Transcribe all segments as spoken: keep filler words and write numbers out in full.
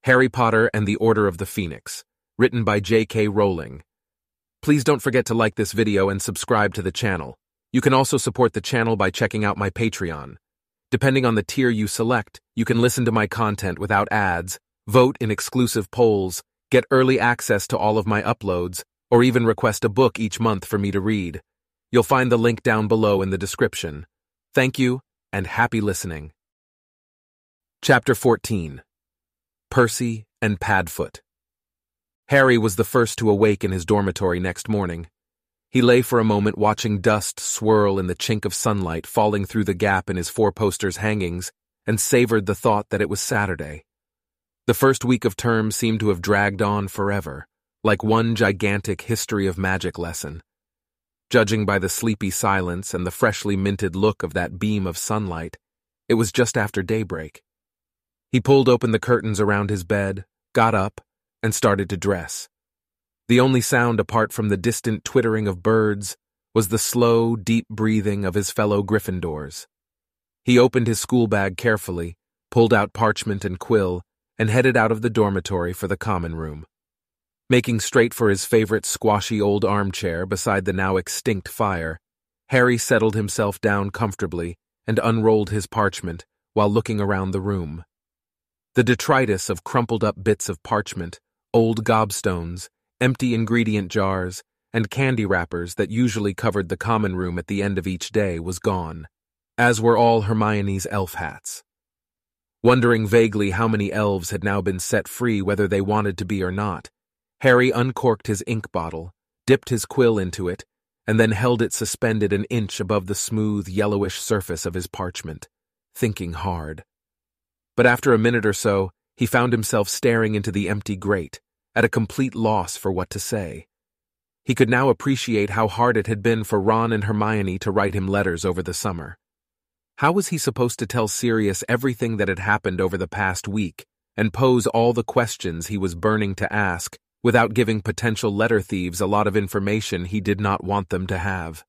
Harry Potter and the Order of the Phoenix, written by J K Rowling. Please don't forget to like this video and subscribe to the channel. You can also support the channel by checking out my Patreon. Depending on the tier you select, you can listen to my content without ads, vote in exclusive polls, get early access to all of my uploads, or even request a book each month for me to read. You'll find the link down below in the description. Thank you, and happy listening. Chapter fourteen. Percy and Padfoot. Harry was the first to awake in his dormitory next morning. He lay for a moment watching dust swirl in the chink of sunlight falling through the gap in his four-posters hangings and savored the thought that it was Saturday. The first week of term seemed to have dragged on forever, like one gigantic history of magic lesson. Judging by the sleepy silence and the freshly minted look of that beam of sunlight, it was just after daybreak. He pulled open the curtains around his bed, got up, and started to dress. The only sound apart from the distant twittering of birds was the slow, deep breathing of his fellow Gryffindors. He opened his school bag carefully, pulled out parchment and quill, and headed out of the dormitory for the common room. Making straight for his favorite squashy old armchair beside the now extinct fire, Harry settled himself down comfortably and unrolled his parchment while looking around the room. The detritus of crumpled-up bits of parchment, old gobstones, empty ingredient jars, and candy wrappers that usually covered the common room at the end of each day was gone, as were all Hermione's elf hats. Wondering vaguely how many elves had now been set free whether they wanted to be or not, Harry uncorked his ink bottle, dipped his quill into it, and then held it suspended an inch above the smooth, yellowish surface of his parchment, thinking hard. But after a minute or so, he found himself staring into the empty grate, at a complete loss for what to say. He could now appreciate how hard it had been for Ron and Hermione to write him letters over the summer. How was he supposed to tell Sirius everything that had happened over the past week, and pose all the questions he was burning to ask, without giving potential letter thieves a lot of information he did not want them to have?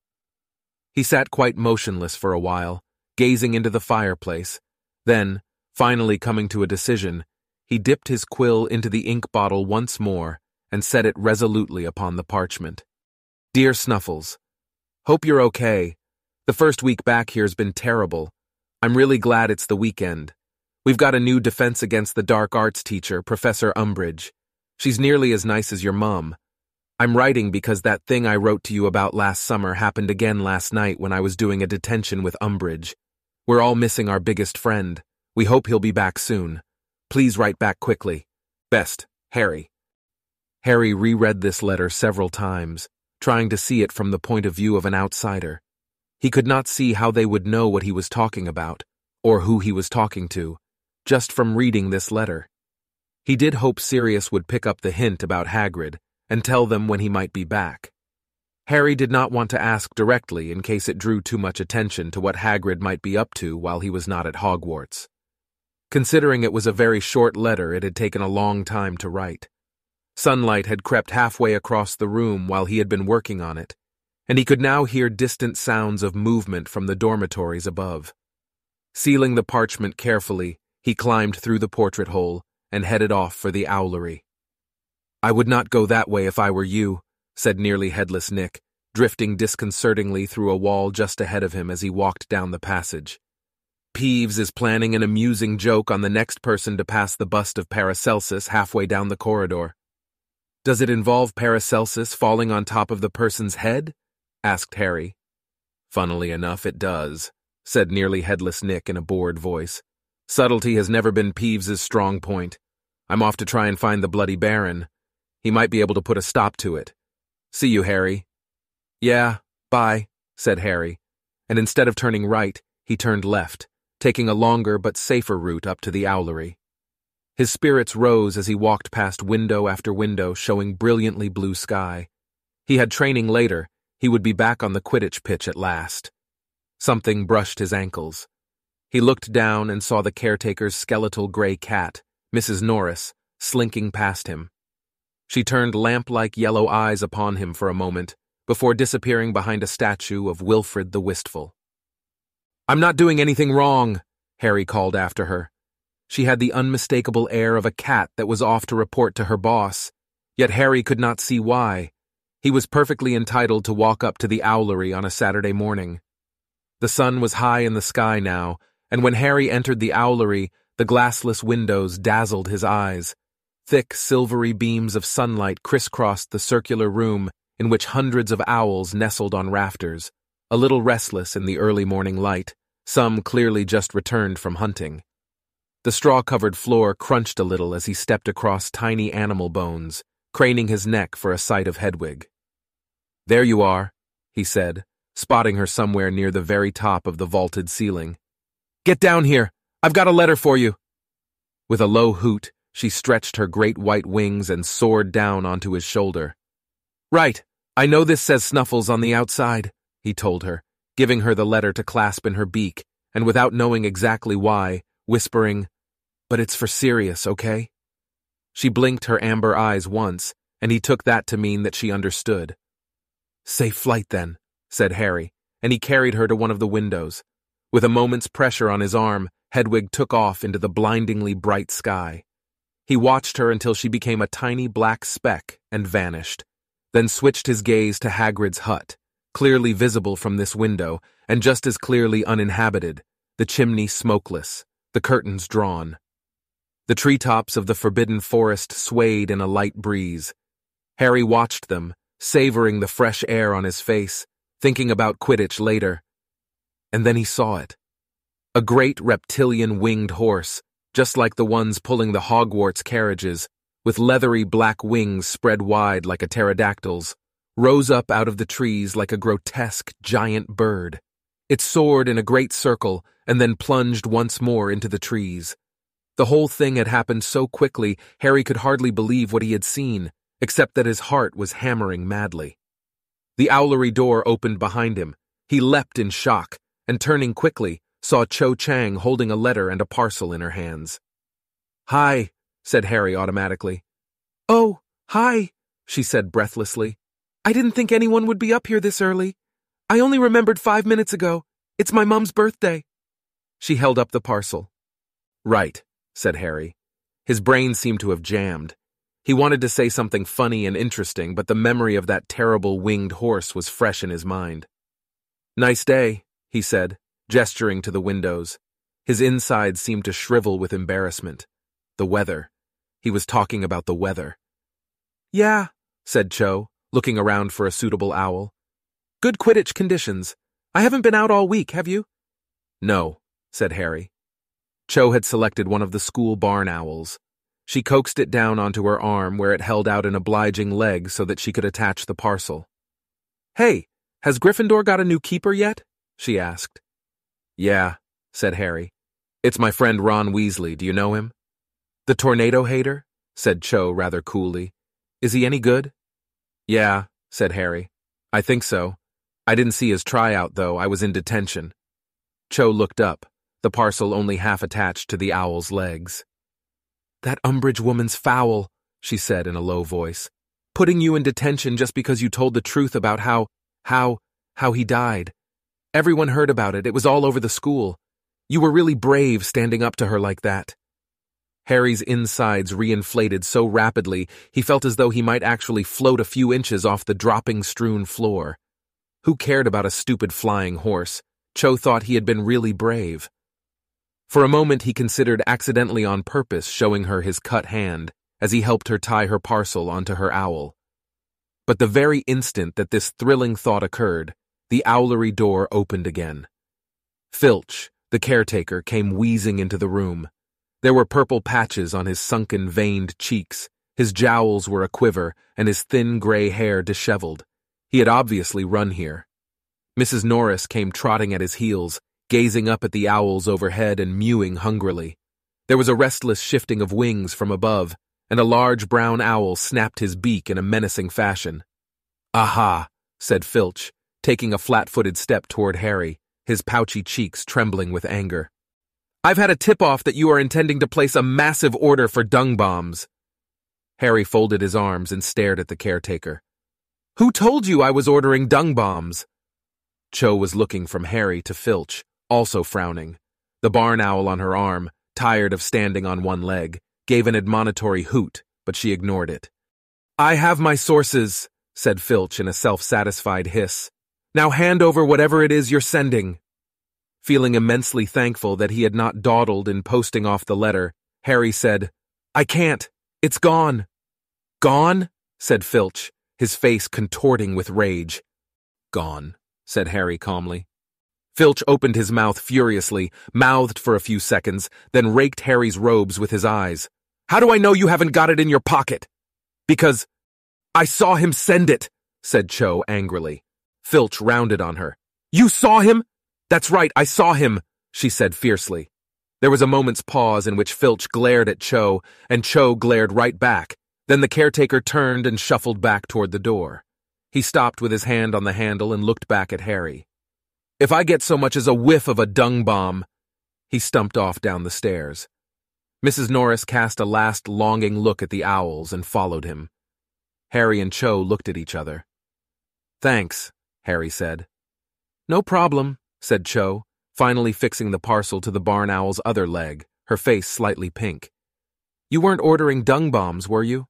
He sat quite motionless for a while, gazing into the fireplace. Then, finally coming to a decision, he dipped his quill into the ink bottle once more and set it resolutely upon the parchment. Dear Snuffles, hope you're okay. The first week back here's been terrible. I'm really glad it's the weekend. We've got a new Defense Against the Dark Arts teacher, Professor Umbridge. She's nearly as nice as your mum. I'm writing because that thing I wrote to you about last summer happened again last night when I was doing a detention with Umbridge. We're all missing our biggest friend. We hope he'll be back soon. Please write back quickly. Best, Harry. Harry reread this letter several times, trying to see it from the point of view of an outsider. He could not see how they would know what he was talking about, or who he was talking to, just from reading this letter. He did hope Sirius would pick up the hint about Hagrid and tell them when he might be back. Harry did not want to ask directly in case it drew too much attention to what Hagrid might be up to while he was not at Hogwarts. Considering it was a very short letter, it had taken a long time to write. Sunlight had crept halfway across the room while he had been working on it, and he could now hear distant sounds of movement from the dormitories above. Sealing the parchment carefully, he climbed through the portrait hole and headed off for the owlery. I would not go that way if I were you, said nearly headless Nick, drifting disconcertingly through a wall just ahead of him as he walked down the passage. Peeves is planning an amusing joke on the next person to pass the bust of Paracelsus halfway down the corridor. Does it involve Paracelsus falling on top of the person's head? Asked Harry. Funnily enough, it does, said nearly headless Nick in a bored voice. Subtlety has never been Peeves's strong point. I'm off to try and find the Bloody Baron. He might be able to put a stop to it. See you, Harry. Yeah, bye, said Harry, and instead of turning right, he turned left, taking a longer but safer route up to the owlery. His spirits rose as he walked past window after window showing brilliantly blue sky. He had training later. He would be back on the Quidditch pitch at last. Something brushed his ankles. He looked down and saw the caretaker's skeletal gray cat, Missus Norris, slinking past him. She turned lamp-like yellow eyes upon him for a moment, before disappearing behind a statue of Wilfred the Wistful. I'm not doing anything wrong, Harry called after her. She had the unmistakable air of a cat that was off to report to her boss, yet Harry could not see why. He was perfectly entitled to walk up to the owlery on a Saturday morning. The sun was high in the sky now, and when Harry entered the owlery, the glassless windows dazzled his eyes. Thick, silvery beams of sunlight crisscrossed the circular room in which hundreds of owls nestled on rafters, a little restless in the early morning light, some clearly just returned from hunting. The straw-covered floor crunched a little as he stepped across tiny animal bones, craning his neck for a sight of Hedwig. "There you are," he said, spotting her somewhere near the very top of the vaulted ceiling. "Get down here! I've got a letter for you!" With a low hoot, she stretched her great white wings and soared down onto his shoulder. "Right, I know this says Snuffles on the outside," he told her, giving her the letter to clasp in her beak, and without knowing exactly why, whispering, "But it's for Sirius, okay?" She blinked her amber eyes once, and he took that to mean that she understood. "Safe flight, then," said Harry, and he carried her to one of the windows. With a moment's pressure on his arm, Hedwig took off into the blindingly bright sky. He watched her until she became a tiny black speck and vanished, then switched his gaze to Hagrid's hut, clearly visible from this window, and just as clearly uninhabited, the chimney smokeless, the curtains drawn. The treetops of the forbidden forest swayed in a light breeze. Harry watched them, savoring the fresh air on his face, thinking about Quidditch later. And then he saw it. A great reptilian winged horse, just like the ones pulling the Hogwarts carriages, with leathery black wings spread wide like a pterodactyl's, rose up out of the trees like a grotesque giant bird. It soared in a great circle and then plunged once more into the trees. The whole thing had happened so quickly, Harry could hardly believe what he had seen, except that his heart was hammering madly. The owlery door opened behind him. He leapt in shock, and turning quickly, saw Cho Chang holding a letter and a parcel in her hands. "Hi," said Harry automatically. "Oh, hi," she said breathlessly. "I didn't think anyone would be up here this early. I only remembered five minutes ago. It's my mom's birthday." She held up the parcel. "Right," said Harry. His brain seemed to have jammed. He wanted to say something funny and interesting, but the memory of that terrible winged horse was fresh in his mind. "Nice day," he said, gesturing to the windows. His insides seemed to shrivel with embarrassment. The weather. He was talking about the weather. "Yeah," said Cho, looking around for a suitable owl. "Good Quidditch conditions. I haven't been out all week, have you?" "No," said Harry. Cho had selected one of the school barn owls. She coaxed it down onto her arm where it held out an obliging leg so that she could attach the parcel. "Hey, has Gryffindor got a new keeper yet?" she asked. "Yeah," said Harry. "It's my friend Ron Weasley. Do you know him?" "The tornado hater?" said Cho rather coolly. "Is he any good?" "Yeah," said Harry. "I think so. I didn't see his tryout, though. I was in detention." Cho looked up, the parcel only half attached to the owl's legs. "That Umbridge woman's foul," she said in a low voice. "Putting you in detention just because you told the truth about how, how, how he died. Everyone heard about it. It was all over the school. You were really brave standing up to her like that." Harry's insides reinflated so rapidly he felt as though he might actually float a few inches off the dropping-strewn floor. Who cared about a stupid flying horse? Cho thought he had been really brave. For a moment he considered accidentally on purpose showing her his cut hand as he helped her tie her parcel onto her owl. But the very instant that this thrilling thought occurred, the owlery door opened again. Filch, the caretaker, came wheezing into the room. There were purple patches on his sunken, veined cheeks, his jowls were aquiver, and his thin gray hair disheveled. He had obviously run here. Missus Norris came trotting at his heels, gazing up at the owls overhead and mewing hungrily. There was a restless shifting of wings from above, and a large brown owl snapped his beak in a menacing fashion. "Aha," said Filch, taking a flat-footed step toward Harry, his pouchy cheeks trembling with anger. "I've had a tip-off that you are intending to place a massive order for dung bombs." Harry folded his arms and stared at the caretaker. "Who told you I was ordering dung bombs?" Cho was looking from Harry to Filch, also frowning, the barn owl on her arm, tired of standing on one leg, gave an admonitory hoot, but she ignored it. "I have my sources," said Filch in a self-satisfied hiss. "Now hand over whatever it is you're sending." Feeling immensely thankful that he had not dawdled in posting off the letter, Harry said, "I can't. It's gone." "Gone?" said Filch, his face contorting with rage. "Gone," said Harry calmly. Filch opened his mouth furiously, mouthed for a few seconds, then raked Harry's robes with his eyes. "How do I know you haven't got it in your pocket?" "Because I saw him send it," said Cho angrily. Filch rounded on her. "You saw him?" "That's right, I saw him," she said fiercely. There was a moment's pause in which Filch glared at Cho, and Cho glared right back. Then the caretaker turned and shuffled back toward the door. He stopped with his hand on the handle and looked back at Harry. "If I get so much as a whiff of a dung bomb—" He stumped off down the stairs. Missus Norris cast a last longing look at the owls and followed him. Harry and Cho looked at each other. "Thanks," Harry said. "No problem," said Cho, finally fixing the parcel to the barn owl's other leg, her face slightly pink. "You weren't ordering dung bombs, were you?"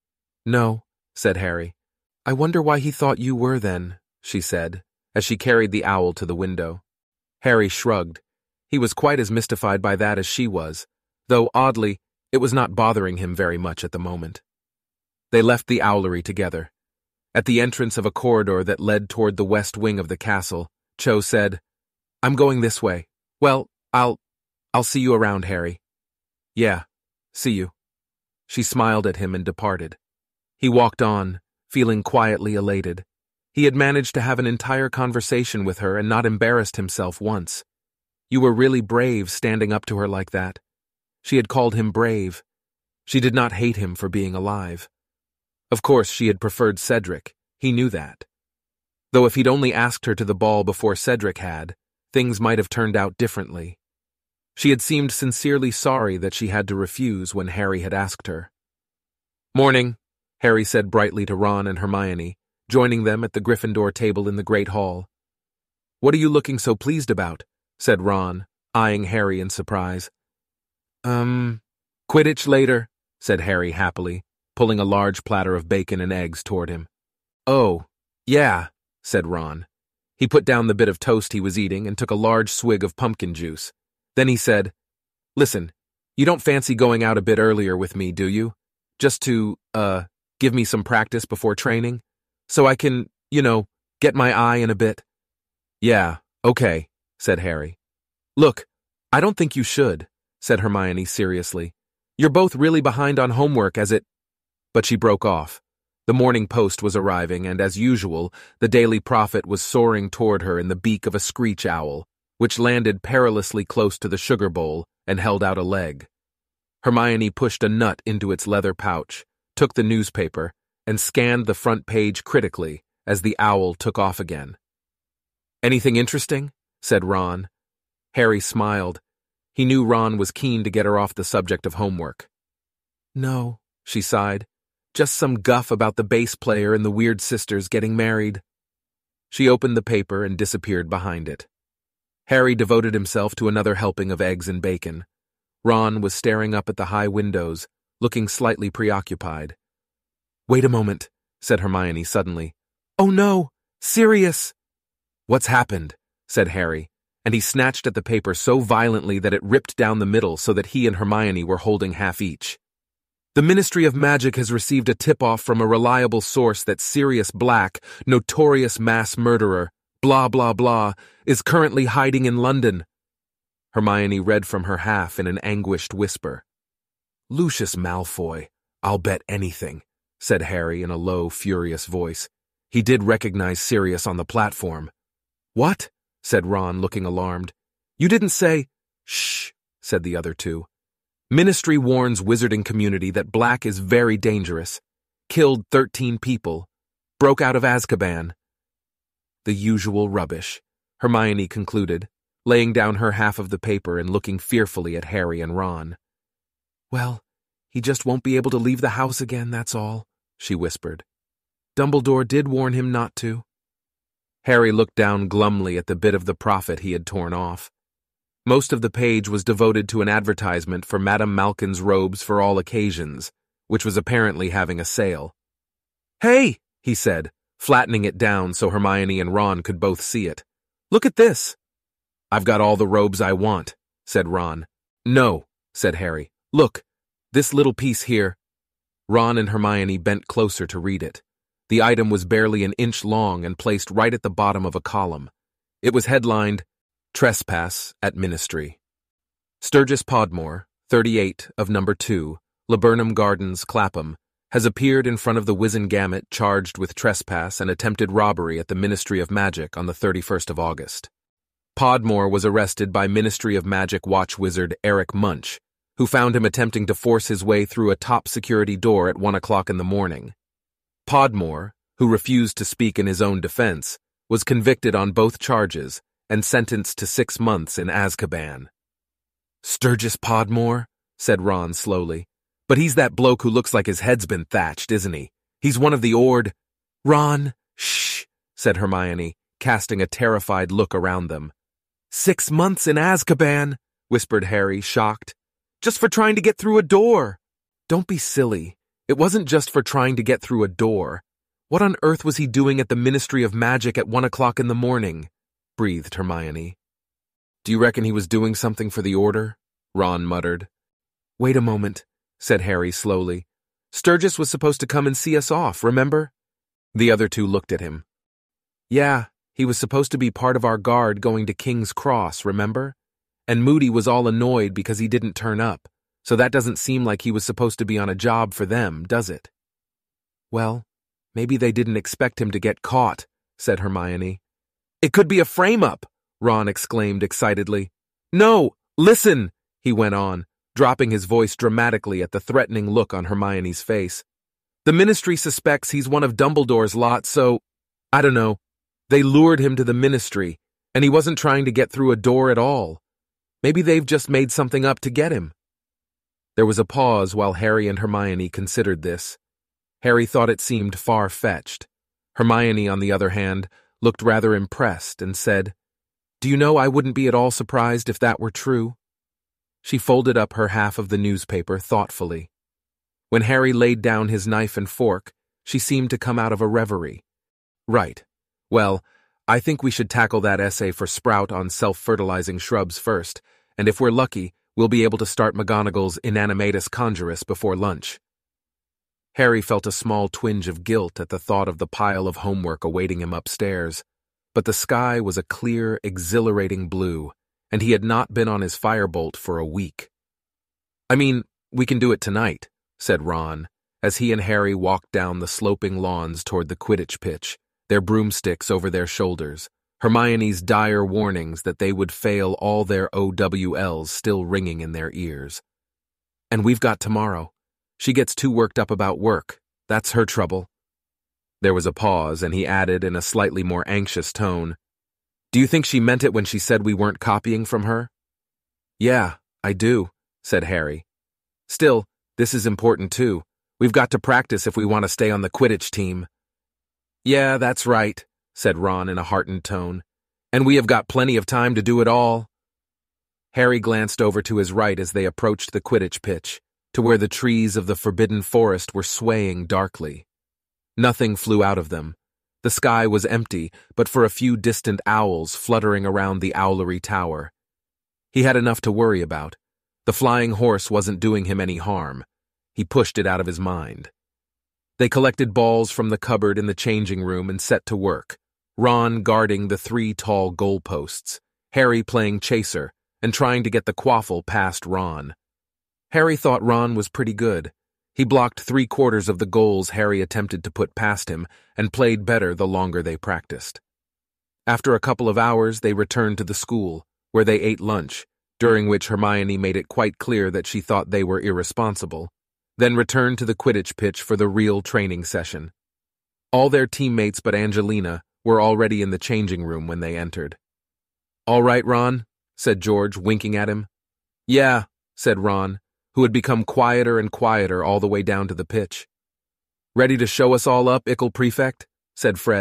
"No," said Harry. "I wonder why he thought you were then," she said, as she carried the owl to the window. Harry shrugged. He was quite as mystified by that as she was, though, oddly, it was not bothering him very much at the moment. They left the owlery together. At the entrance of a corridor that led toward the west wing of the castle, Cho said, "I'm going this way. Well, I'll... I'll see you around, Harry." "Yeah, see you." She smiled at him and departed. He walked on, feeling quietly elated. He had managed to have an entire conversation with her and not embarrassed himself once. You were really brave standing up to her like that. She had called him brave. She did not hate him for being alive. Of course, she had preferred Cedric. He knew that. Though if he'd only asked her to the ball before Cedric had, things might have turned out differently. She had seemed sincerely sorry that she had to refuse when Harry had asked her. "Morning," Harry said brightly to Ron and Hermione, joining them at the Gryffindor table in the Great Hall. "What are you looking so pleased about?" said Ron, eyeing Harry in surprise. Um, Quidditch later," said Harry happily, pulling a large platter of bacon and eggs toward him. "Oh, yeah," said Ron. He put down the bit of toast he was eating and took a large swig of pumpkin juice. Then he said, "Listen, you don't fancy going out a bit earlier with me, do you? Just to, uh, give me some practice before training? So I can, you know, get my eye in a bit?" "Yeah, okay," said Harry. "Look, I don't think you should," said Hermione seriously. "You're both really behind on homework as it—" But she broke off. The Morning Post was arriving, and as usual, the Daily Prophet was soaring toward her in the beak of a screech owl, which landed perilously close to the sugar bowl and held out a leg. Hermione pushed a nut into its leather pouch, took the newspaper, and scanned the front page critically as the owl took off again. "Anything interesting?" said Ron. Harry smiled. He knew Ron was keen to get her off the subject of homework. "No," she sighed. "Just some guff about the bass player and the Weird Sisters getting married." She opened the paper and disappeared behind it. Harry devoted himself to another helping of eggs and bacon. Ron was staring up at the high windows, looking slightly preoccupied. "Wait a moment," said Hermione suddenly. "Oh no! Sirius!" "What's happened?" said Harry, and he snatched at the paper so violently that it ripped down the middle so that he and Hermione were holding half each. "The Ministry of Magic has received a tip-off from a reliable source that Sirius Black, notorious mass murderer, blah blah blah, is currently hiding in London." Hermione read from her half in an anguished whisper. "Lucius Malfoy, I'll bet anything," said Harry in a low, furious voice. "He did recognize Sirius on the platform." "What?" said Ron, looking alarmed. "You didn't say—" "Shh," said the other two. "Ministry warns wizarding community that Black is very dangerous. Killed thirteen people. Broke out of Azkaban." "The usual rubbish," Hermione concluded, laying down her half of the paper and looking fearfully at Harry and Ron. "Well, he just won't be able to leave the house again, that's all," she whispered. "Dumbledore did warn him not to." Harry looked down glumly at the bit of the prophet he had torn off. Most of the page was devoted to an advertisement for Madame Malkin's robes for all occasions, which was apparently having a sale. "Hey," he said, flattening it down so Hermione and Ron could both see it. "Look at this." "I've got all the robes I want," said Ron. "No," said Harry. "Look, this little piece here." Ron and Hermione bent closer to read it. The item was barely an inch long and placed right at the bottom of a column. It was headlined, "Trespass at Ministry." Sturgis Podmore, thirty-eight of number two, Laburnum Gardens, Clapham, has appeared in front of the Wizengamot charged with trespass and attempted robbery at the Ministry of Magic on the thirty-first of August. Podmore was arrested by Ministry of Magic watch wizard Eric Munch, who found him attempting to force his way through a top-security door at one o'clock in the morning. Podmore, who refused to speak in his own defense, was convicted on both charges and sentenced to six months in Azkaban. "Sturgis Podmore?" said Ron slowly. "But he's that bloke who looks like his head's been thatched, isn't he? He's one of the Ord—" "Ron, shh," said Hermione, casting a terrified look around them. "Six months in Azkaban," whispered Harry, shocked. "Just for trying to get through a door." "Don't be silly. It wasn't just for trying to get through a door. What on earth was he doing at the Ministry of Magic at one o'clock in the morning?" breathed Hermione. "Do you reckon he was doing something for the Order?" Ron muttered. "Wait a moment," said Harry slowly. "Sturgis was supposed to come and see us off, remember?" The other two looked at him. "Yeah, he was supposed to be part of our guard going to King's Cross, remember? And Moody was all annoyed because he didn't turn up, so that doesn't seem like he was supposed to be on a job for them, does it?" "Well, maybe they didn't expect him to get caught," said Hermione. "It could be a frame-up," Ron exclaimed excitedly. "No, listen," he went on, dropping his voice dramatically at the threatening look on Hermione's face. "The Ministry suspects he's one of Dumbledore's lot, so, I don't know. They lured him to the Ministry, and he wasn't trying to get through a door at all. Maybe they've just made something up to get him." There was a pause while Harry and Hermione considered this. Harry thought it seemed far-fetched. Hermione, on the other hand, looked rather impressed and said, "Do you know, I wouldn't be at all surprised if that were true." She folded up her half of the newspaper thoughtfully. When Harry laid down his knife and fork, she seemed to come out of a reverie. "Right. Well, I think we should tackle that essay for Sprout on self-fertilizing shrubs first, and if we're lucky, we'll be able to start McGonagall's Inanimatus Conjurus before lunch." Harry felt a small twinge of guilt at the thought of the pile of homework awaiting him upstairs, but the sky was a clear, exhilarating blue, and he had not been on his firebolt for a week. "I mean, we can do it tonight," said Ron, as he and Harry walked down the sloping lawns toward the Quidditch pitch, their broomsticks over their shoulders, Hermione's dire warnings that they would fail all their O W Ls still ringing in their ears. "And we've got tomorrow. She gets too worked up about work. That's her trouble." There was a pause, and he added in a slightly more anxious tone, "Do you think she meant it when she said we weren't copying from her?" "Yeah, I do," said Harry. "Still, this is important too. We've got to practice if we want to stay on the Quidditch team." "Yeah, that's right," said Ron in a heartened tone. "And we have got plenty of time to do it all." Harry glanced over to his right as they approached the Quidditch pitch, to where the trees of the Forbidden Forest were swaying darkly. Nothing flew out of them. The sky was empty, but for a few distant owls fluttering around the owlery tower. He had enough to worry about. The flying horse wasn't doing him any harm. He pushed it out of his mind. They collected balls from the cupboard in the changing room and set to work, Ron guarding the three tall goalposts, Harry playing chaser and trying to get the quaffle past Ron. Harry thought Ron was pretty good. He blocked three-quarters of the goals Harry attempted to put past him and played better the longer they practiced. After a couple of hours, they returned to the school, where they ate lunch, during which Hermione made it quite clear that she thought they were irresponsible, then returned to the Quidditch pitch for the real training session. All their teammates but Angelina were already in the changing room when they entered. "All right, Ron," said George, winking at him. "Yeah," said Ron, who had become quieter and quieter all the way down to the pitch. "Ready to show us all up, Ickle Prefect?" said Fred,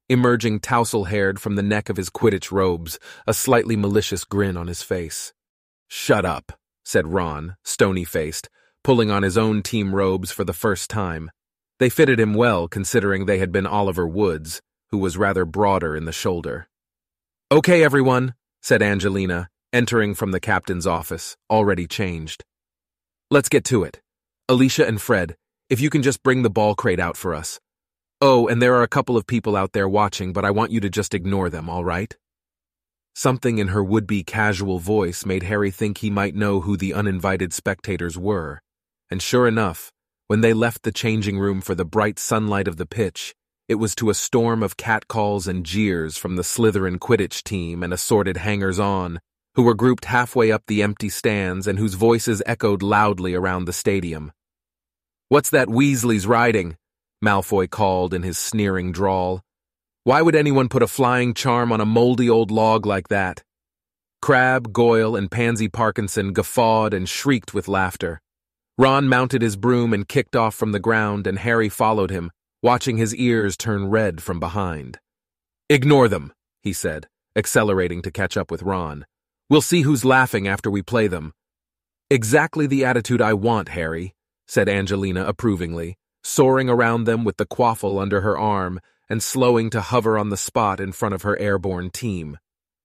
emerging tousle-haired from the neck of his Quidditch robes, a slightly malicious grin on his face. "Shut up," said Ron, stony-faced, pulling on his own team robes for the first time. They fitted him well, considering they had been Oliver Wood's, who was rather broader in the shoulder. "Okay, everyone," said Angelina, entering from the captain's office, already changed. "Let's get to it. Alicia and Fred, if you can just bring the ball crate out for us. Oh, and there are a couple of people out there watching, but I want you to just ignore them, all right?" Something in her would-be casual voice made Harry think he might know who the uninvited spectators were, and sure enough, when they left the changing room for the bright sunlight of the pitch, it was to a storm of catcalls and jeers from the Slytherin Quidditch team and assorted hangers-on, who were grouped halfway up the empty stands and whose voices echoed loudly around the stadium. "What's that Weasley's riding?" Malfoy called in his sneering drawl. "Why would anyone put a flying charm on a moldy old log like that?" Crabbe, Goyle, and Pansy Parkinson guffawed and shrieked with laughter. Ron mounted his broom and kicked off from the ground, and Harry followed him, watching his ears turn red from behind. "Ignore them," he said, accelerating to catch up with Ron. "We'll see who's laughing after we play them." "Exactly the attitude I want, Harry," said Angelina approvingly, soaring around them with the quaffle under her arm and slowing to hover on the spot in front of her airborne team.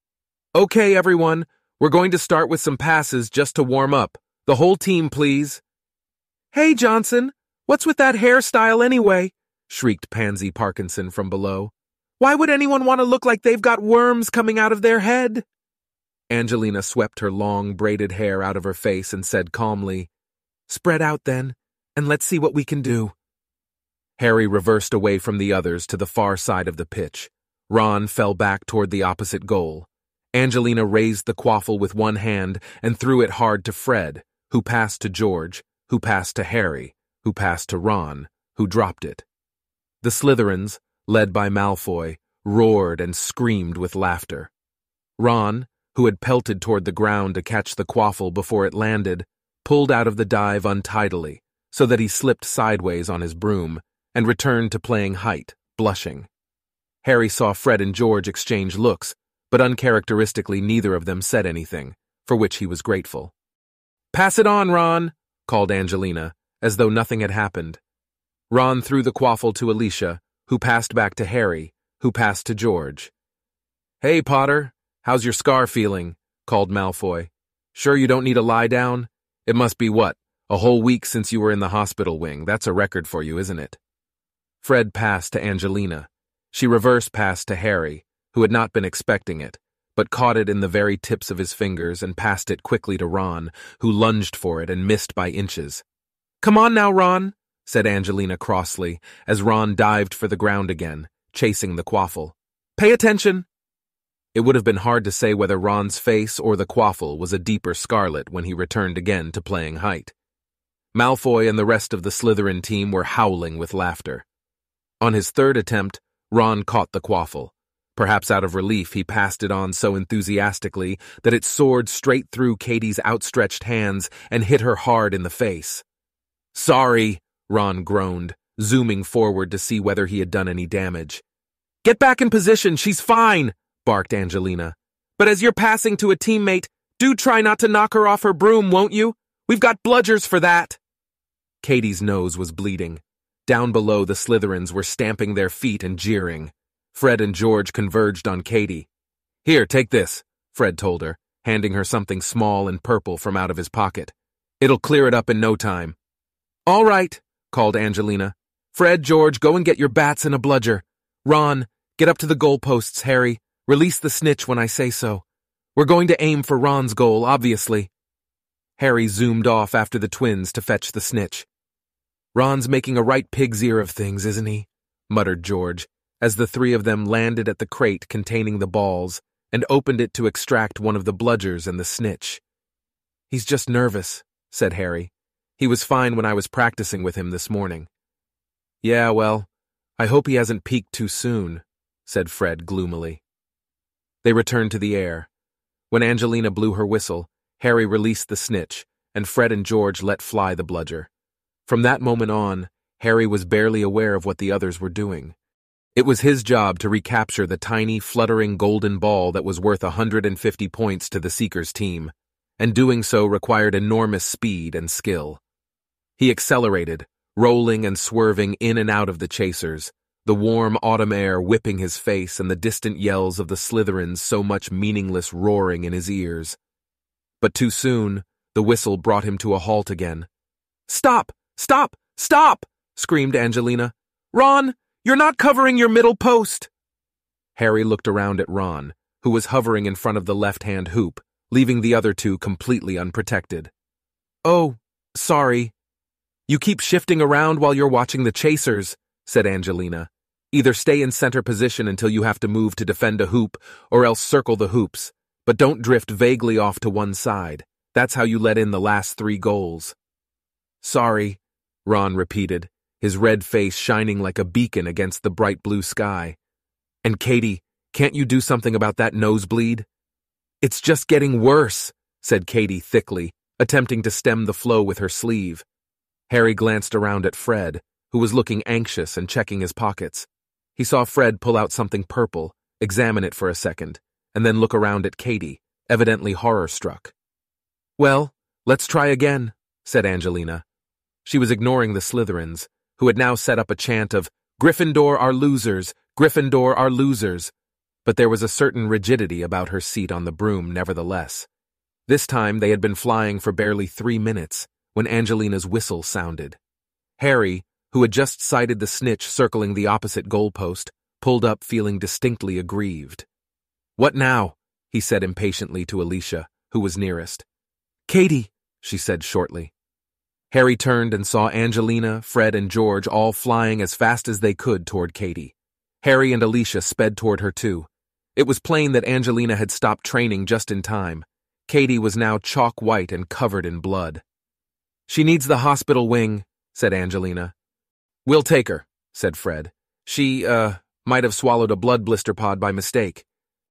"Okay, everyone, we're going to start with some passes just to warm up. The whole team, please." "Hey, Johnson, what's with that hairstyle anyway?" shrieked Pansy Parkinson from below. "Why would anyone want to look like they've got worms coming out of their head?" Angelina swept her long, braided hair out of her face and said calmly, "Spread out then, and let's see what we can do." Harry reversed away from the others to the far side of the pitch. Ron fell back toward the opposite goal. Angelina raised the quaffle with one hand and threw it hard to Fred, who passed to George, who passed to Harry, who passed to Ron, who dropped it. The Slytherins, led by Malfoy, roared and screamed with laughter. Ron, who had pelted toward the ground to catch the quaffle before it landed, pulled out of the dive untidily, so that he slipped sideways on his broom, and returned to playing height, blushing. Harry saw Fred and George exchange looks, but uncharacteristically neither of them said anything, for which he was grateful. "Pass it on, Ron," called Angelina, as though nothing had happened. Ron threw the quaffle to Alicia, who passed back to Harry, who passed to George. "Hey, Potter, how's your scar feeling?" called Malfoy. "Sure you don't need a lie down? It must be what, a whole week since you were in the hospital wing. That's a record for you, isn't it?" Fred passed to Angelina. She reverse passed to Harry, who had not been expecting it, but caught it in the very tips of his fingers and passed it quickly to Ron, who lunged for it and missed by inches. "Come on now, Ron," said Angelina crossly, as Ron dived for the ground again, chasing the quaffle. "Pay attention." It would have been hard to say whether Ron's face or the quaffle was a deeper scarlet when he returned again to playing height. Malfoy and the rest of the Slytherin team were howling with laughter. On his third attempt, Ron caught the quaffle. Perhaps out of relief, he passed it on so enthusiastically that it soared straight through Katie's outstretched hands and hit her hard in the face. "Sorry," Ron groaned, zooming forward to see whether he had done any damage. "Get back in position, she's fine," barked Angelina. "But as you're passing to a teammate, do try not to knock her off her broom, won't you? We've got bludgers for that." Katie's nose was bleeding. Down below, the Slytherins were stamping their feet and jeering. Fred and George converged on Katie. "Here, take this," Fred told her, handing her something small and purple from out of his pocket. "It'll clear it up in no time." "All right," called Angelina. "Fred, George, go and get your bats and a bludger. Ron, get up to the goalposts, Harry. Release the snitch when I say so. We're going to aim for Ron's goal, obviously." Harry zoomed off after the twins to fetch the snitch. "Ron's making a right pig's ear of things, isn't he?" muttered George, as the three of them landed at the crate containing the balls and opened it to extract one of the bludgers and the snitch. "He's just nervous," said Harry. "He was fine when I was practicing with him this morning." "Yeah, well, I hope he hasn't peaked too soon," said Fred gloomily. They returned to the air. When Angelina blew her whistle, Harry released the snitch, and Fred and George let fly the bludger. From that moment on, Harry was barely aware of what the others were doing. It was his job to recapture the tiny, fluttering golden ball that was worth one hundred fifty points to the Seekers team, and doing so required enormous speed and skill. He accelerated, rolling and swerving in and out of the chasers, the warm autumn air whipping his face and the distant yells of the Slytherins so much meaningless roaring in his ears. But too soon, the whistle brought him to a halt again. "Stop! Stop! Stop!" screamed Angelina. "Ron, you're not covering your middle post!" Harry looked around at Ron, who was hovering in front of the left-hand hoop, leaving the other two completely unprotected. "Oh, sorry. You keep shifting around while you're watching the chasers," said Angelina. "Either stay in center position until you have to move to defend a hoop, or else circle the hoops, but don't drift vaguely off to one side. That's how you let in the last three goals." "Sorry," Ron repeated, his red face shining like a beacon against the bright blue sky. "And Katie, can't you do something about that nosebleed?" "It's just getting worse," said Katie thickly, attempting to stem the flow with her sleeve. Harry glanced around at Fred, who was looking anxious and checking his pockets. He saw Fred pull out something purple, examine it for a second, and then look around at Katie, evidently horror-struck. "Well, let's try again," said Angelina. She was ignoring the Slytherins, who had now set up a chant of, "Gryffindor are losers! Gryffindor are losers!" But there was a certain rigidity about her seat on the broom nevertheless. This time they had been flying for barely three minutes when Angelina's whistle sounded. Harry, who had just sighted the snitch circling the opposite goalpost, pulled up feeling distinctly aggrieved. "What now?" he said impatiently to Alicia, who was nearest. "Katie," she said shortly. Harry turned and saw Angelina, Fred, and George all flying as fast as they could toward Katie. Harry and Alicia sped toward her too. It was plain that Angelina had stopped training just in time. Katie was now chalk white and covered in blood. "She needs the hospital wing," said Angelina. "We'll take her," said Fred. She, uh, might have swallowed a blood blister pod by mistake."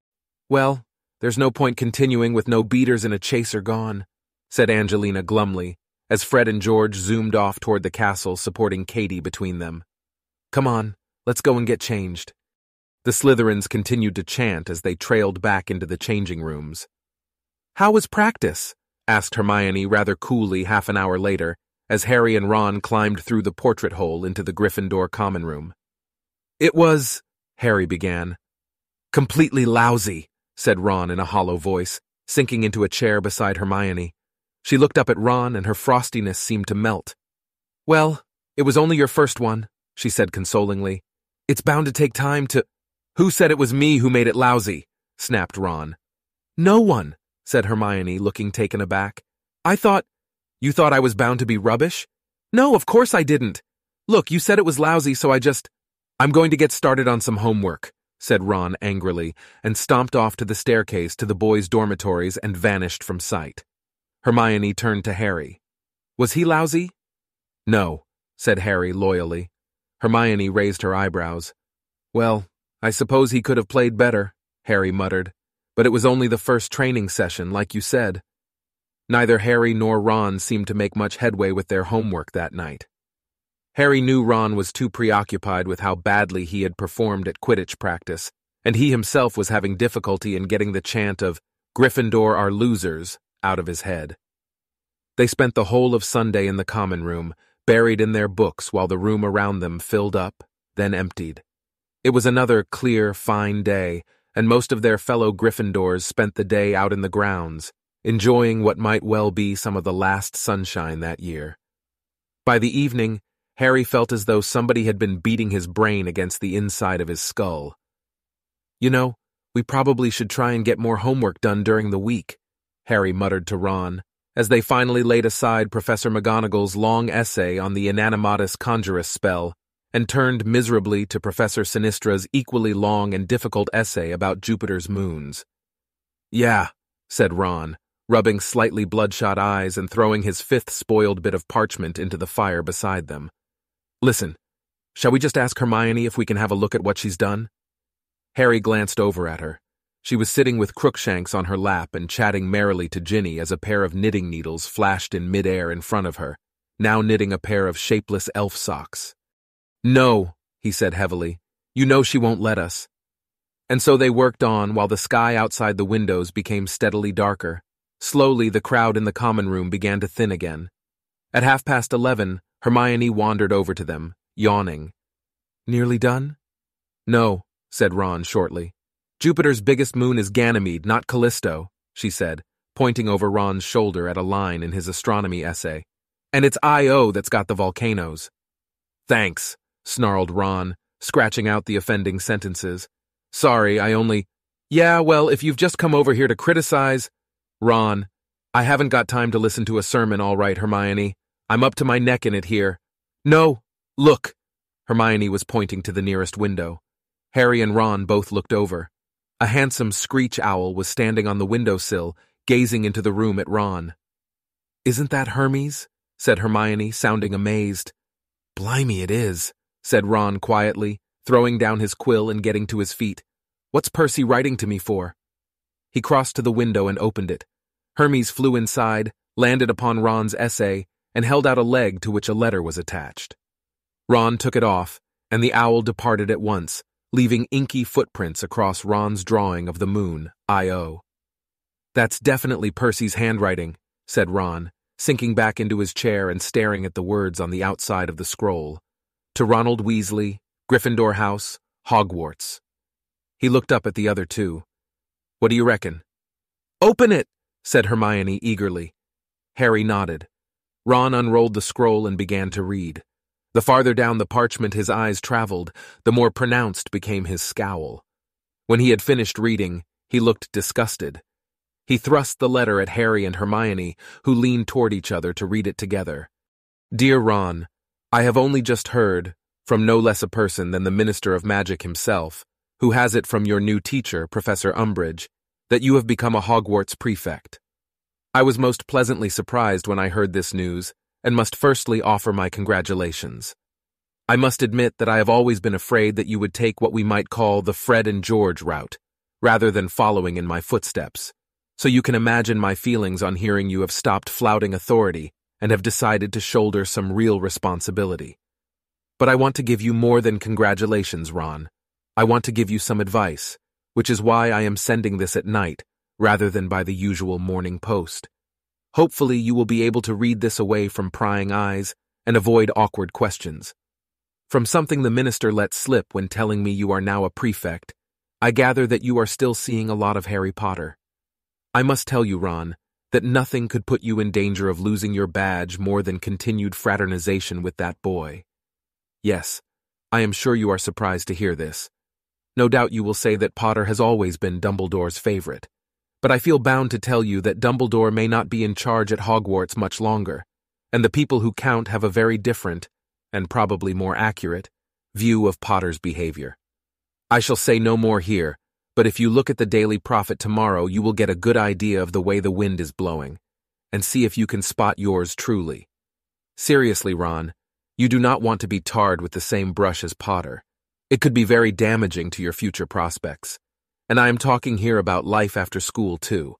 "Well, there's no point continuing with no beaters and a chaser gone," said Angelina glumly, as Fred and George zoomed off toward the castle, supporting Katie between them. "Come on, let's go and get changed." The Slytherins continued to chant as they trailed back into the changing rooms. "How was practice?" asked Hermione rather coolly half an hour later, as Harry and Ron climbed through the portrait hole into the Gryffindor common room. "It was," Harry began. "Completely lousy," said Ron in a hollow voice, sinking into a chair beside Hermione. She looked up at Ron and her frostiness seemed to melt. "Well, it was only your first one," she said consolingly. "It's bound to take time to—" "Who said it was me who made it lousy?" snapped Ron. "No one," said Hermione, looking taken aback. "I thought—" "You thought I was bound to be rubbish?" "No, of course I didn't. Look, you said it was lousy, so I just—" "I'm going to get started on some homework," said Ron angrily, and stomped off to the staircase to the boys' dormitories and vanished from sight. Hermione turned to Harry. "Was he lousy?" "No," said Harry loyally. Hermione raised her eyebrows. "Well, I suppose he could have played better," Harry muttered, "but it was only the first training session, like you said." Neither Harry nor Ron seemed to make much headway with their homework that night. Harry knew Ron was too preoccupied with how badly he had performed at Quidditch practice, and he himself was having difficulty in getting the chant of "Gryffindor are losers" out of his head. They spent the whole of Sunday in the common room, buried in their books while the room around them filled up, then emptied. It was another clear, fine day, and most of their fellow Gryffindors spent the day out in the grounds, enjoying what might well be some of the last sunshine that year. By the evening, Harry felt as though somebody had been beating his brain against the inside of his skull. "You know, we probably should try and get more homework done during the week," Harry muttered to Ron, as they finally laid aside Professor McGonagall's long essay on the Inanimatus Conjurus spell and turned miserably to Professor Sinistra's equally long and difficult essay about Jupiter's moons. "Yeah," said Ron, rubbing slightly bloodshot eyes and throwing his fifth spoiled bit of parchment into the fire beside them. "Listen, shall we just ask Hermione if we can have a look at what she's done?" Harry glanced over at her. She was sitting with Crookshanks on her lap and chatting merrily to Ginny as a pair of knitting needles flashed in midair in front of her, now knitting a pair of shapeless elf socks. "No," he said heavily. You know she won't let us." And so they worked on while the sky outside the windows became steadily darker. Slowly, the crowd in the common room began to thin again. At half past eleven, Hermione wandered over to them, yawning. "Nearly done?" "No," said Ron shortly. "Jupiter's biggest moon is Ganymede, not Callisto," she said, pointing over Ron's shoulder at a line in his astronomy essay. "And it's Io that's got the volcanoes." "Thanks," snarled Ron, scratching out the offending sentences. "Sorry, I only—" "Yeah, well, if you've just come over here to criticize—" "Ron, I haven't got time to listen to a sermon, all right, Hermione. I'm up to my neck in it here." "No, look." Hermione was pointing to the nearest window. Harry and Ron both looked over. A handsome screech owl was standing on the windowsill, gazing into the room at Ron. "Isn't that Hermes?" said Hermione, sounding amazed. "Blimey, it is," said Ron quietly, throwing down his quill and getting to his feet. "What's Percy writing to me for?" He crossed to the window and opened it. Hermes flew inside, landed upon Ron's essay, and held out a leg to which a letter was attached. Ron took it off, and the owl departed at once, leaving inky footprints across Ron's drawing of the moon, Io. "That's definitely Percy's handwriting," said Ron, sinking back into his chair and staring at the words on the outside of the scroll. "To Ronald Weasley, Gryffindor House, Hogwarts." He looked up at the other two. "What do you reckon?" "Open it!" said Hermione eagerly. Harry nodded. Ron unrolled the scroll and began to read. The farther down the parchment his eyes traveled, the more pronounced became his scowl. When he had finished reading, he looked disgusted. He thrust the letter at Harry and Hermione, who leaned toward each other to read it together. "Dear Ron, I have only just heard, from no less a person than the Minister of Magic himself, who has it from your new teacher, Professor Umbridge, that you have become a Hogwarts prefect. I was most pleasantly surprised when I heard this news, and must firstly offer my congratulations. I must admit that I have always been afraid that you would take what we might call the Fred and George route, rather than following in my footsteps, so you can imagine my feelings on hearing you have stopped flouting authority and have decided to shoulder some real responsibility. But I want to give you more than congratulations, Ron. I want to give you some advice, which is why I am sending this at night, rather than by the usual morning post. Hopefully you will be able to read this away from prying eyes and avoid awkward questions. From something the minister let slip when telling me you are now a prefect, I gather that you are still seeing a lot of Harry Potter. I must tell you, Ron, that nothing could put you in danger of losing your badge more than continued fraternization with that boy. Yes, I am sure you are surprised to hear this. No doubt you will say that Potter has always been Dumbledore's favorite. But I feel bound to tell you that Dumbledore may not be in charge at Hogwarts much longer, and the people who count have a very different, and probably more accurate, view of Potter's behavior. I shall say no more here, but if you look at the Daily Prophet tomorrow, you will get a good idea of the way the wind is blowing, and see if you can spot yours truly. Seriously, Ron, you do not want to be tarred with the same brush as Potter. It could be very damaging to your future prospects. And I am talking here about life after school, too.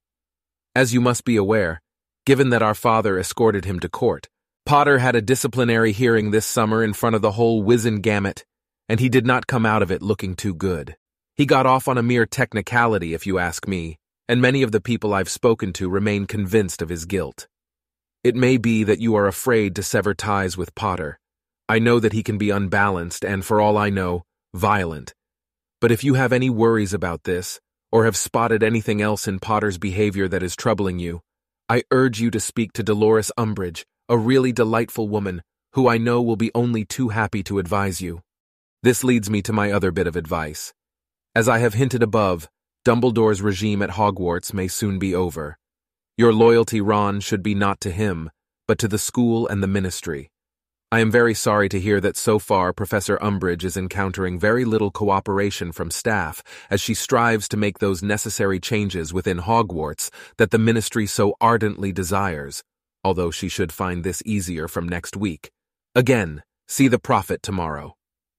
As you must be aware, given that our father escorted him to court, Potter had a disciplinary hearing this summer in front of the whole Wizengamot, and he did not come out of it looking too good. He got off on a mere technicality, if you ask me, and many of the people I've spoken to remain convinced of his guilt. It may be that you are afraid to sever ties with Potter. I know that he can be unbalanced and, for all I know, violent. But if you have any worries about this, or have spotted anything else in Potter's behavior that is troubling you, I urge you to speak to Dolores Umbridge, a really delightful woman, who I know will be only too happy to advise you. This leads me to my other bit of advice. As I have hinted above, Dumbledore's regime at Hogwarts may soon be over. Your loyalty, Ron, should be not to him, but to the school and the ministry. I am very sorry to hear that so far Professor Umbridge is encountering very little cooperation from staff as she strives to make those necessary changes within Hogwarts that the ministry so ardently desires, although she should find this easier from next week. Again, see the prophet tomorrow.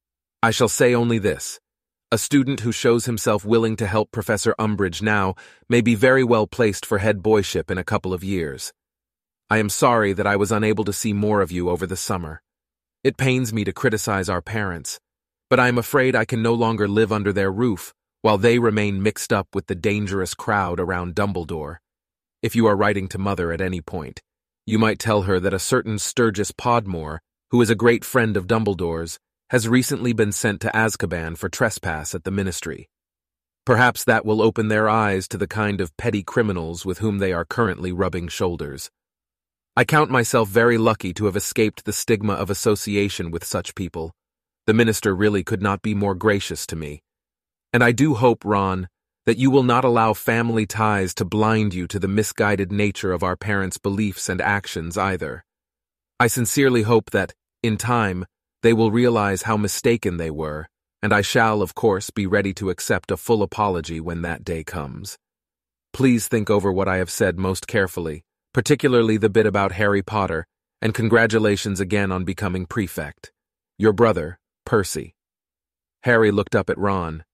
I shall say only this. A student who shows himself willing to help Professor Umbridge now may be very well placed for head boyship in a couple of years. I am sorry that I was unable to see more of you over the summer. It pains me to criticize our parents, but I am afraid I can no longer live under their roof, while they remain mixed up with the dangerous crowd around Dumbledore. If you are writing to Mother at any point, you might tell her that a certain Sturgis Podmore, who is a great friend of Dumbledore's, has recently been sent to Azkaban for trespass at the Ministry. Perhaps that will open their eyes to the kind of petty criminals with whom they are currently rubbing shoulders. I count myself very lucky to have escaped the stigma of association with such people. The Minister really could not be more gracious to me. And I do hope, Ron, that you will not allow family ties to blind you to the misguided nature of our parents' beliefs and actions either. I sincerely hope that, in time, they will realize how mistaken they were, and I shall, of course, be ready to accept a full apology when that day comes. Please think over what I have said most carefully, particularly the bit about Harry Potter, and congratulations again on becoming prefect. Your brother, Percy. Harry looked up at Ron.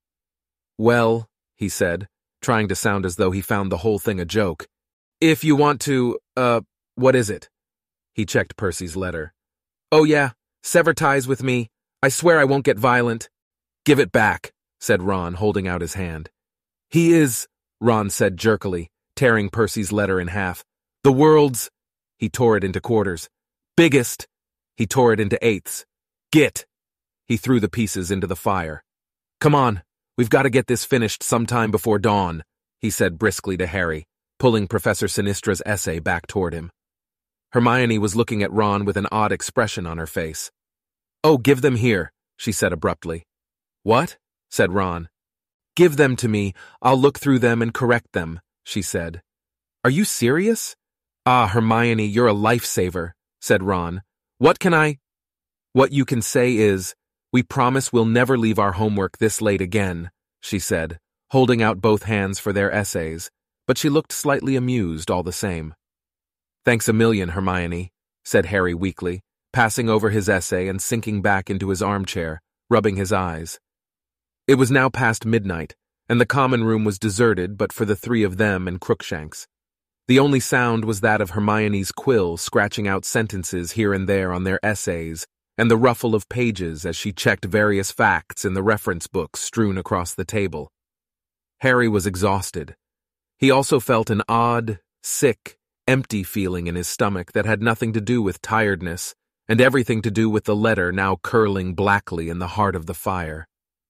Well, he said, trying to sound as though he found the whole thing a joke. If you want to, uh, what is it? He checked Percy's letter. Oh yeah, sever ties with me. I swear I won't get violent. Give it back, said Ron, holding out his hand. He is, Ron said jerkily, tearing Percy's letter in half. The world's, he tore it into quarters. Biggest, he tore it into eighths. Git, he threw the pieces into the fire. Come on, we've got to get this finished sometime before dawn, he said briskly to Harry, pulling Professor Sinistra's essay back toward him. Hermione was looking at Ron with an odd expression on her face. Oh, give them here, she said abruptly. What? Said Ron. Give them to me, I'll look through them and correct them, she said. Are you serious? Ah, Hermione, you're a lifesaver, said Ron. What can I? What you can say is, we promise we'll never leave our homework this late again, she said, holding out both hands for their essays, but she looked slightly amused all the same. Thanks a million, Hermione, said Harry weakly, passing over his essay and sinking back into his armchair, rubbing his eyes. It was now past midnight, and the common room was deserted but for the three of them and Crookshanks. The only sound was that of Hermione's quill scratching out sentences here and there on their essays, and the ruffle of pages as she checked various facts in the reference books strewn across the table. Harry was exhausted. He also felt an odd, sick, empty feeling in his stomach that had nothing to do with tiredness, and everything to do with the letter now curling blackly in the heart of the fire.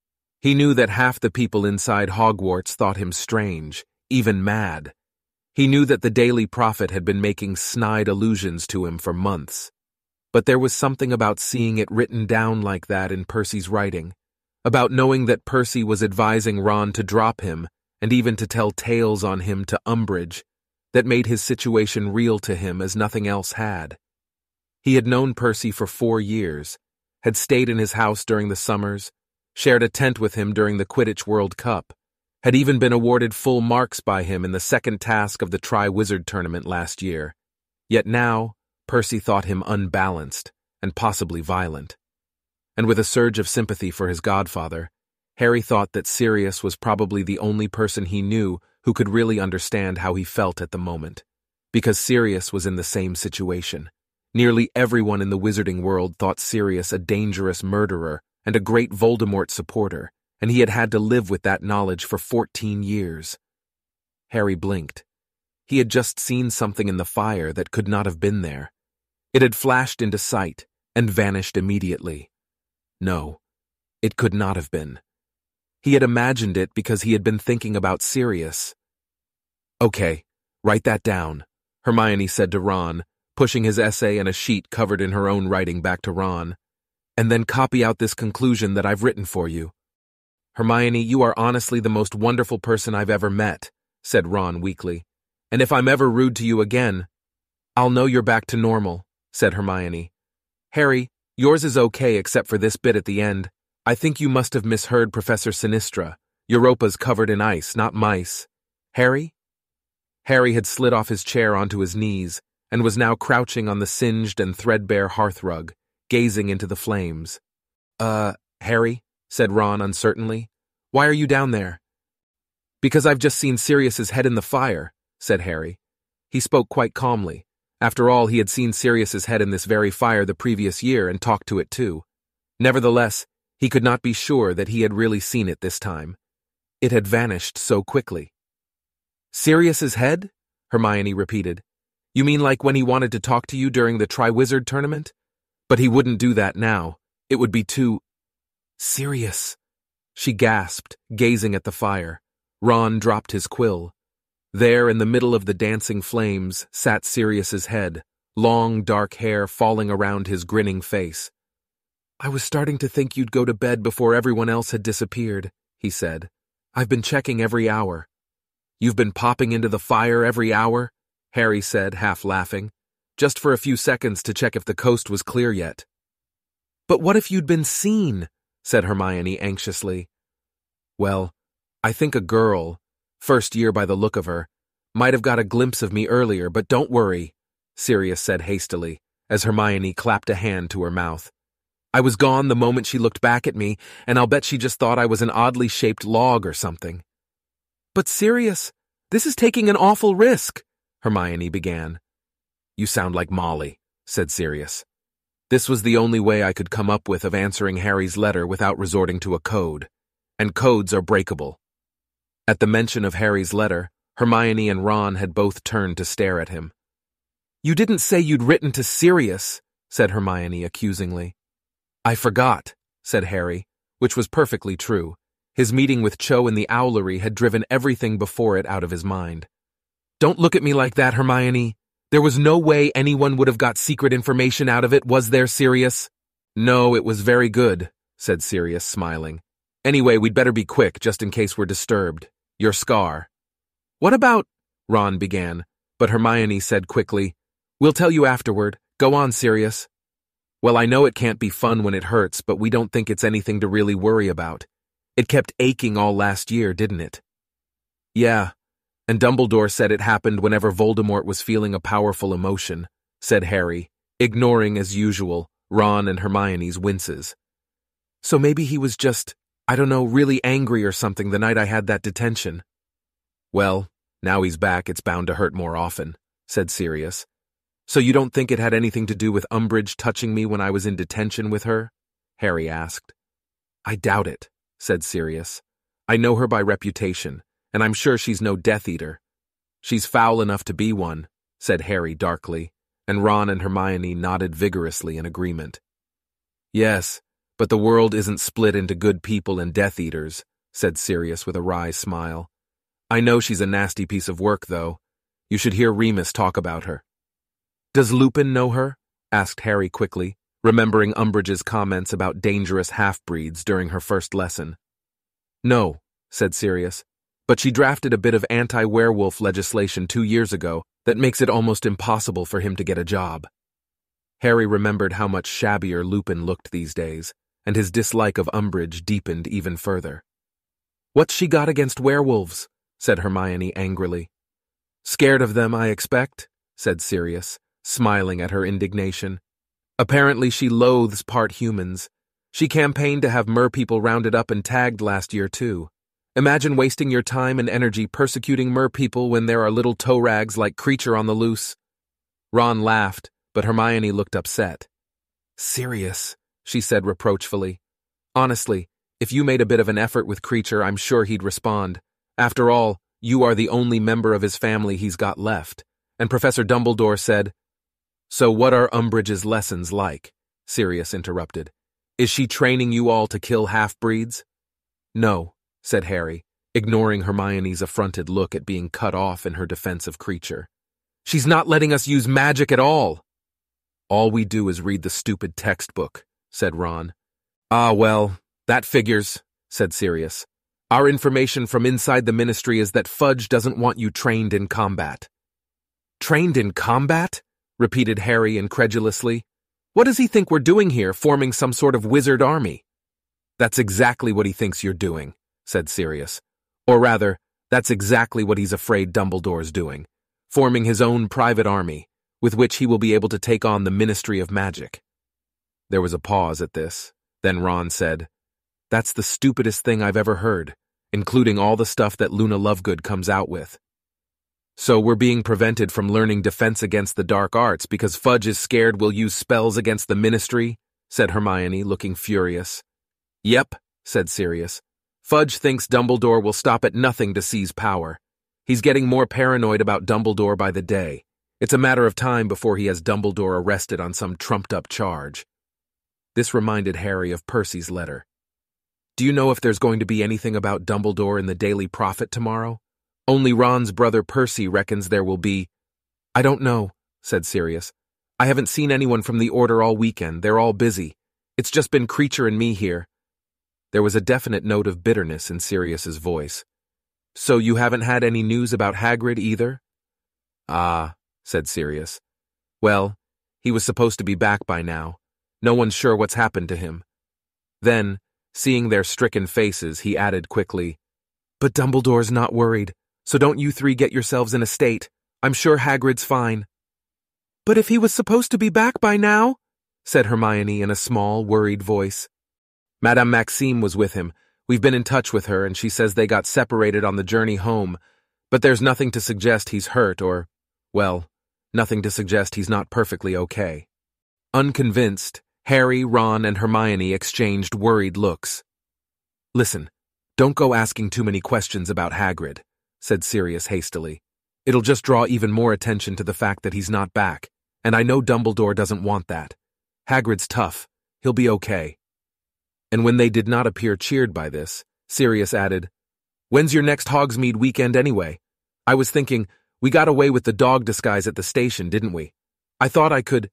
He knew that half the people inside Hogwarts thought him strange, even mad. He knew that the Daily Prophet had been making snide allusions to him for months. But there was something about seeing it written down like that in Percy's writing, about knowing that Percy was advising Ron to drop him and even to tell tales on him to Umbridge, that made his situation real to him as nothing else had. He had known Percy for four years, had stayed in his house during the summers, shared a tent with him during the Quidditch World Cup, had even been awarded full marks by him in the second task of the Tri-Wizard tournament last year. Yet now, Percy thought him unbalanced and possibly violent. And with a surge of sympathy for his godfather, Harry thought that Sirius was probably the only person he knew who could really understand how he felt at the moment, because Sirius was in the same situation. Nearly everyone in the wizarding world thought Sirius a dangerous murderer and a great Voldemort supporter, and he had had to live with that knowledge for fourteen years. Harry blinked. He had just seen something in the fire that could not have been there. It had flashed into sight and vanished immediately. No, it could not have been. He had imagined it because he had been thinking about Sirius. Okay, write that down, Hermione said to Ron, pushing his essay and a sheet covered in her own writing back to Ron. And then copy out this conclusion that I've written for you. Hermione, you are honestly the most wonderful person I've ever met, said Ron weakly. And if I'm ever rude to you again, I'll know you're back to normal, said Hermione. Harry, yours is okay except for this bit at the end. I think you must have misheard Professor Sinistra. Europa's covered in ice, not mice. Harry? Harry had slid off his chair onto his knees and was now crouching on the singed and threadbare hearthrug, gazing into the flames. Uh, Harry, said Ron uncertainly, why are you down there? Because I've just seen Sirius's head in the fire, said Harry. He spoke quite calmly. After all, he had seen Sirius's head in this very fire the previous year and talked to it too. Nevertheless, He could not be sure that he had really seen it this time. It had vanished so quickly. Sirius's head? Hermione repeated. You mean like when he wanted to talk to you during the Triwizard Tournament? But he wouldn't do that now. It would be too... Sirius! She gasped, gazing at the fire. Ron dropped his quill. There, in the middle of the dancing flames, sat Sirius's head, long dark hair falling around his grinning face. I was starting to think you'd go to bed before everyone else had disappeared, he said. I've been checking every hour. You've been popping into the fire every hour? Harry said, half laughing. Just for a few seconds to check if the coast was clear yet. But what if you'd been seen? Said Hermione anxiously. Well, I think a girl, first year by the look of her, might have got a glimpse of me earlier, but don't worry, Sirius said hastily, as Hermione clapped a hand to her mouth. I was gone the moment she looked back at me, and I'll bet she just thought I was an oddly shaped log or something. But Sirius, this is taking an awful risk, Hermione began. You sound like Molly, said Sirius. This was the only way I could come up with of answering Harry's letter without resorting to a code, and codes are breakable. At the mention of Harry's letter, Hermione and Ron had both turned to stare at him. You didn't say you'd written to Sirius, said Hermione accusingly. I forgot, said Harry, which was perfectly true. His meeting with Cho in the Owlery had driven everything before it out of his mind. Don't look at me like that, Hermione. There was no way anyone would have got secret information out of it, was there, Sirius? No, it was very good, said Sirius, smiling. Anyway, we'd better be quick, just in case we're disturbed. Your scar. What about... Ron began, but Hermione said quickly, We'll tell you afterward. Go on, Sirius. Well, I know it can't be fun when it hurts, but we don't think it's anything to really worry about. It kept aching all last year, didn't it? Yeah, and Dumbledore said it happened whenever Voldemort was feeling a powerful emotion, said Harry, ignoring, as usual, Ron and Hermione's winces. So maybe he was just, I don't know, really angry or something the night I had that detention. Well, now he's back, it's bound to hurt more often, said Sirius. So you don't think it had anything to do with Umbridge touching me when I was in detention with her? Harry asked. I doubt it, said Sirius. I know her by reputation, and I'm sure she's no Death Eater. She's foul enough to be one, said Harry darkly, and Ron and Hermione nodded vigorously in agreement. Yes, but the world isn't split into good people and Death Eaters, said Sirius with a wry smile. I know she's a nasty piece of work, though. You should hear Remus talk about her. Does Lupin know her? Asked Harry quickly, remembering Umbridge's comments about dangerous half-breeds during her first lesson. No, said Sirius, but she drafted a bit of anti-werewolf legislation two years ago that makes it almost impossible for him to get a job. Harry remembered how much shabbier Lupin looked these days, and his dislike of Umbridge deepened even further. What's she got against werewolves? Said Hermione angrily. Scared of them, I expect, said Sirius, smiling at her indignation. Apparently she loathes part humans. She campaigned to have merpeople rounded up and tagged last year, too. Imagine wasting your time and energy persecuting merpeople when there are little toe rags like Creature on the loose. Ron laughed, but Hermione looked upset. Sirius, she said reproachfully. Honestly, if you made a bit of an effort with Creature, I'm sure he'd respond. After all, you are the only member of his family he's got left. And Professor Dumbledore said, So what are Umbridge's lessons like? Sirius interrupted. Is she training you all to kill half-breeds? No, said Harry, ignoring Hermione's affronted look at being cut off in her defense of Creature. She's not letting us use magic at all. All we do is read the stupid textbook, said Ron. Ah, well, that figures, said Sirius. Our information from inside the Ministry is that Fudge doesn't want you trained in combat. Trained in combat? Repeated Harry incredulously. What does he think we're doing here, forming some sort of wizard army? That's exactly what he thinks you're doing, said Sirius. Or rather, that's exactly what he's afraid Dumbledore's doing, forming his own private army, with which he will be able to take on the Ministry of Magic. There was a pause at this. Then Ron said, That's the stupidest thing I've ever heard, including all the stuff that Luna Lovegood comes out with. So we're being prevented from learning defense against the dark arts because Fudge is scared we'll use spells against the Ministry, said Hermione, looking furious. Yep, said Sirius. Fudge thinks Dumbledore will stop at nothing to seize power. He's getting more paranoid about Dumbledore by the day. It's a matter of time before he has Dumbledore arrested on some trumped-up charge. This reminded Harry of Percy's letter. Do you know if there's going to be anything about Dumbledore in the Daily Prophet tomorrow? Only Ron's brother Percy reckons there will be. I don't know, said Sirius. I haven't seen anyone from the Order all weekend. They're all busy. It's just been Creature and me here. There was a definite note of bitterness in Sirius's voice. So you haven't had any news about Hagrid either? Ah, said Sirius. Well, he was supposed to be back by now. No one's sure what's happened to him. Then, seeing their stricken faces, he added quickly, But Dumbledore's not worried, so don't you three get yourselves in a state. I'm sure Hagrid's fine. But if he was supposed to be back by now? Said Hermione in a small, worried voice. Madame Maxime was with him. We've been in touch with her, and she says they got separated on the journey home, but there's nothing to suggest he's hurt or, well, nothing to suggest he's not perfectly okay. Unconvinced, Harry, Ron, and Hermione exchanged worried looks. Listen, don't go asking too many questions about Hagrid, said Sirius hastily. It'll just draw even more attention to the fact that he's not back, and I know Dumbledore doesn't want that. Hagrid's tough. He'll be okay. And when they did not appear cheered by this, Sirius added, When's your next Hogsmeade weekend anyway? I was thinking, we got away with the dog disguise at the station, didn't we? I thought I could—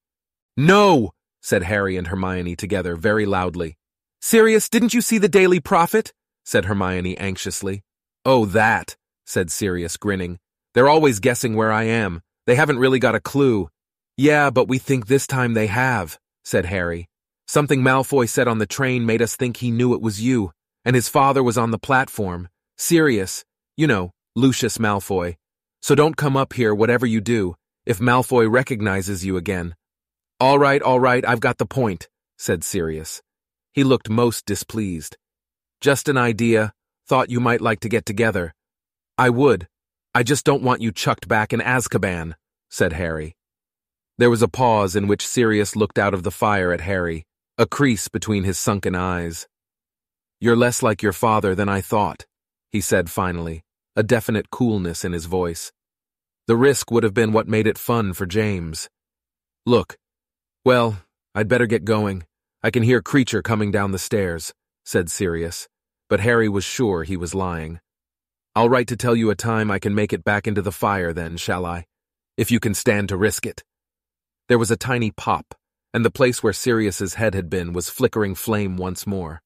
No! Said Harry and Hermione together very loudly. Sirius, didn't you see the Daily Prophet? Said Hermione anxiously. Oh, that, said Sirius, grinning. They're always guessing where I am. They haven't really got a clue. Yeah, but we think this time they have, said Harry. Something Malfoy said on the train made us think he knew it was you, and his father was on the platform. Sirius, you know, Lucius Malfoy. So don't come up here, whatever you do, if Malfoy recognizes you again. All right, all right, I've got the point, said Sirius. He looked most displeased. Just an idea, thought you might like to get together. I would. I just don't want you chucked back in Azkaban, said Harry. There was a pause in which Sirius looked out of the fire at Harry, a crease between his sunken eyes. You're less like your father than I thought, he said finally, a definite coolness in his voice. The risk would have been what made it fun for James. Look, well, I'd better get going. I can hear Creature coming down the stairs, said Sirius, but Harry was sure he was lying. I'll write to tell you a time I can make it back into the fire then, shall I? If you can stand to risk it. There was a tiny pop, and the place where Sirius's head had been was flickering flame once more.